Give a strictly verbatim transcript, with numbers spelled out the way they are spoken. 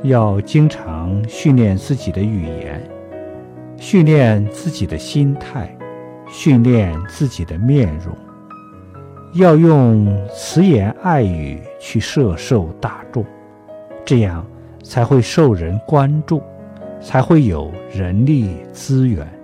要经常训练自己的语言，训练自己的心态，训练自己的面容，要用慈言爱语去摄受大众，这样才会受人关注，才会有人力资源。